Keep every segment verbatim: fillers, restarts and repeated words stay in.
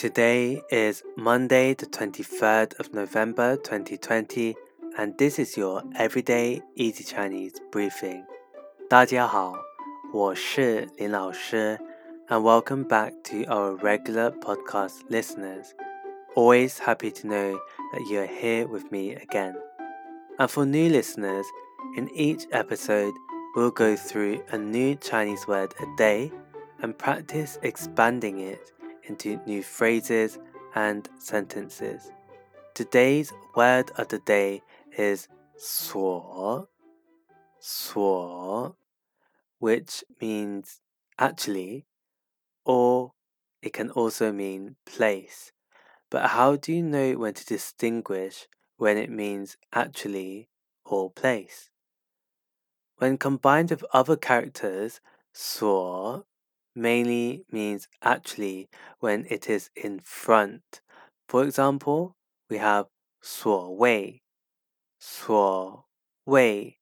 Today is Monday, the twenty-third of November, twenty twenty, and this is your Everyday Easy Chinese briefing. 大家好，我是林老师 and welcome back to our regular podcast listeners. Always happy to know that you are here with me again. And for new listeners, in each episode, we'll go through a new Chinese word a day and practice expanding it into new phrases and sentences. Today's word of the day is 所, 所, which means actually, or it can also mean place. But how do you know when to distinguish when it means actually or place? When combined with other characters, 所 mainly means actually when it is in front. For example, we have 所谓. 所谓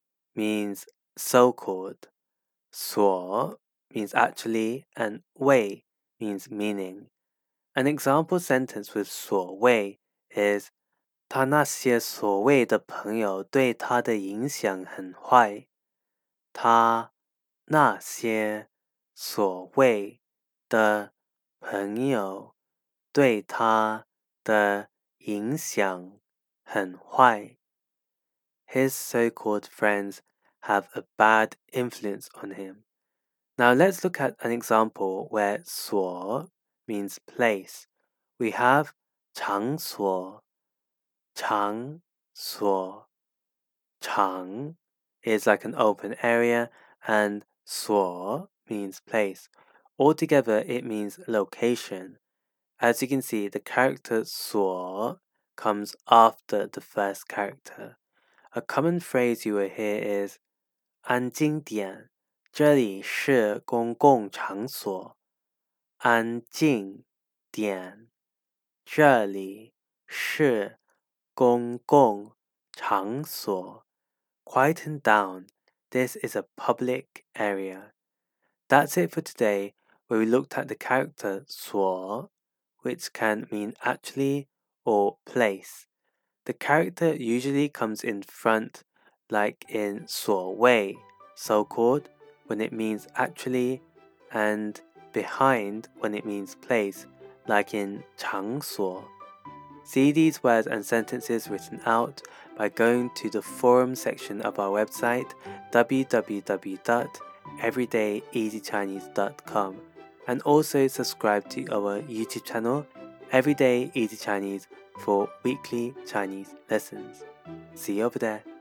means so-called. 所 means actually and 谓 means meaning. An example sentence with 所谓 is 他那些所谓的朋友对他的影响很坏。他那些所谓的朋友对他的影响很坏。His so-called friends have a bad influence on him. Now let's look at an example where 所 means place. We have 场所. 场所. 场 is like an open area and 所 means place. Altogether, it means location. As you can see, the character 所 comes after the first character. A common phrase you will hear is 安静点，这里是公共场所。安静点，这里是公共场所。Quieten down. This is a public area. That's it for today, where we looked at the character 所, which can mean actually or place. The character usually comes in front, like in 所谓, so-called, when it means actually, and behind when it means place, like in 场所. See these words and sentences written out by going to the forum section of our website w w w dot everyday easy chinese dot com and also subscribe to our YouTube channel Everyday Easy Chinese for weekly Chinese lessons. See you over there.